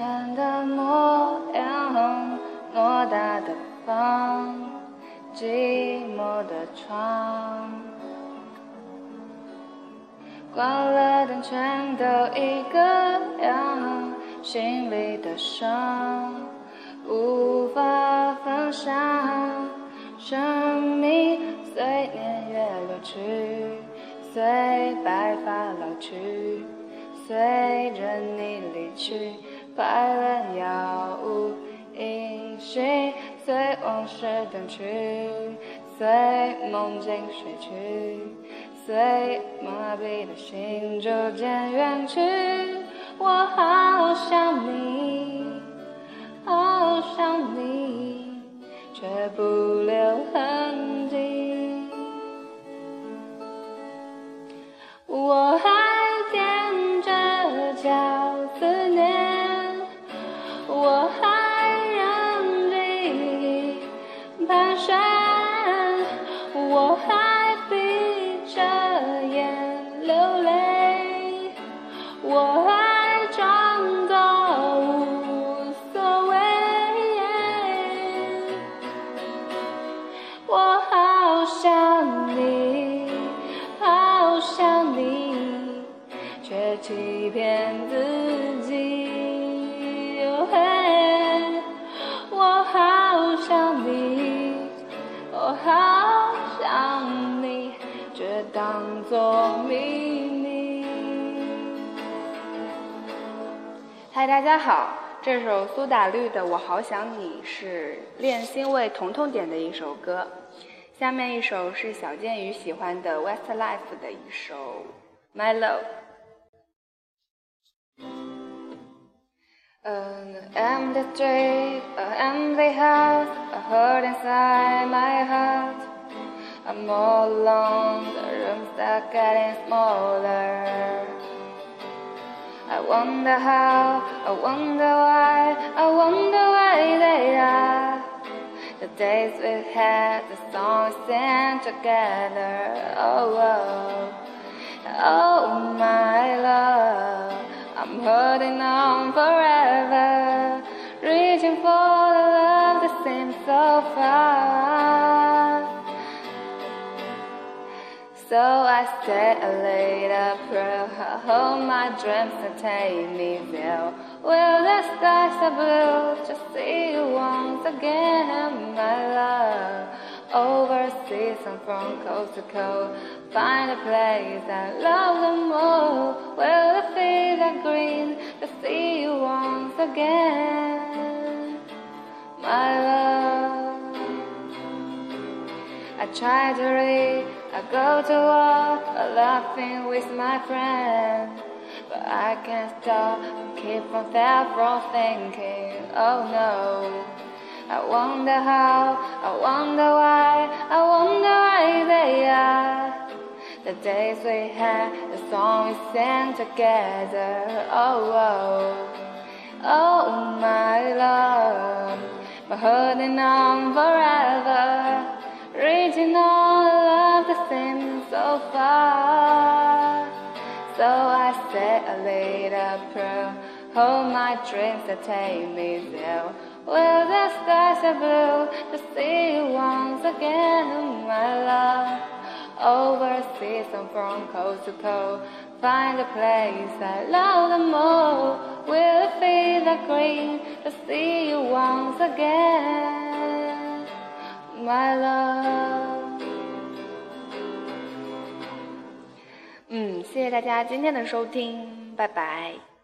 前的模样，偌大的房，寂寞的床，关了灯全都一个样，心里的伤无法分享，生命随年月流去，随白发老去，随着你离去，快乐杳无音讯，随往事淡去，随梦境睡去，随麻痹的心逐渐远去。我好想你，好想你，却不留痕迹。我还踮着脚思念，我还让记忆盘旋，我还闭着眼流泪，我还装作无所谓。我好想你，好想你，却欺骗自己。我好想你，我好想你，却当作秘密。嗨，大家好，这首苏打绿的《我好想你》是恋心为彤彤点的一首歌。下面一首是小健宇喜欢的 Westlife 的一首 My Love。An empty street, an empty house, a hurt inside my heart. I'm all alone, the rooms are getting smaller. I wonder how, I wonder why, I wonder why they are. The days we had, the songs we sang together. Oh, oh, oh my love, I'm holding on forever, reaching for the love that seems so far. So I said a little prayer, I hope my dreams will take me there. Will the skies are blue, just see you once again, my love. Overseas and from coast to coast, find a place I love the most. Will the fields are green, to see you once again, my love. I try to read, I go to walk, laughing with my friends, but I can't stop, keep from far from thinking, oh no. I wonder how, I wonder why, I wonder why they are. The days we had, the songs we sang together, oh, oh, oh my love, but holding on forever, reaching all the love that seems so far. So I said a little prayer, hold my dreams that take me there. Will the skies are blue, to see you once again, my love. Overseas and from coast to coast, find a place I love the most. Will the fields are green, to see you once again, my love. 谢谢大家今天的收听，拜拜。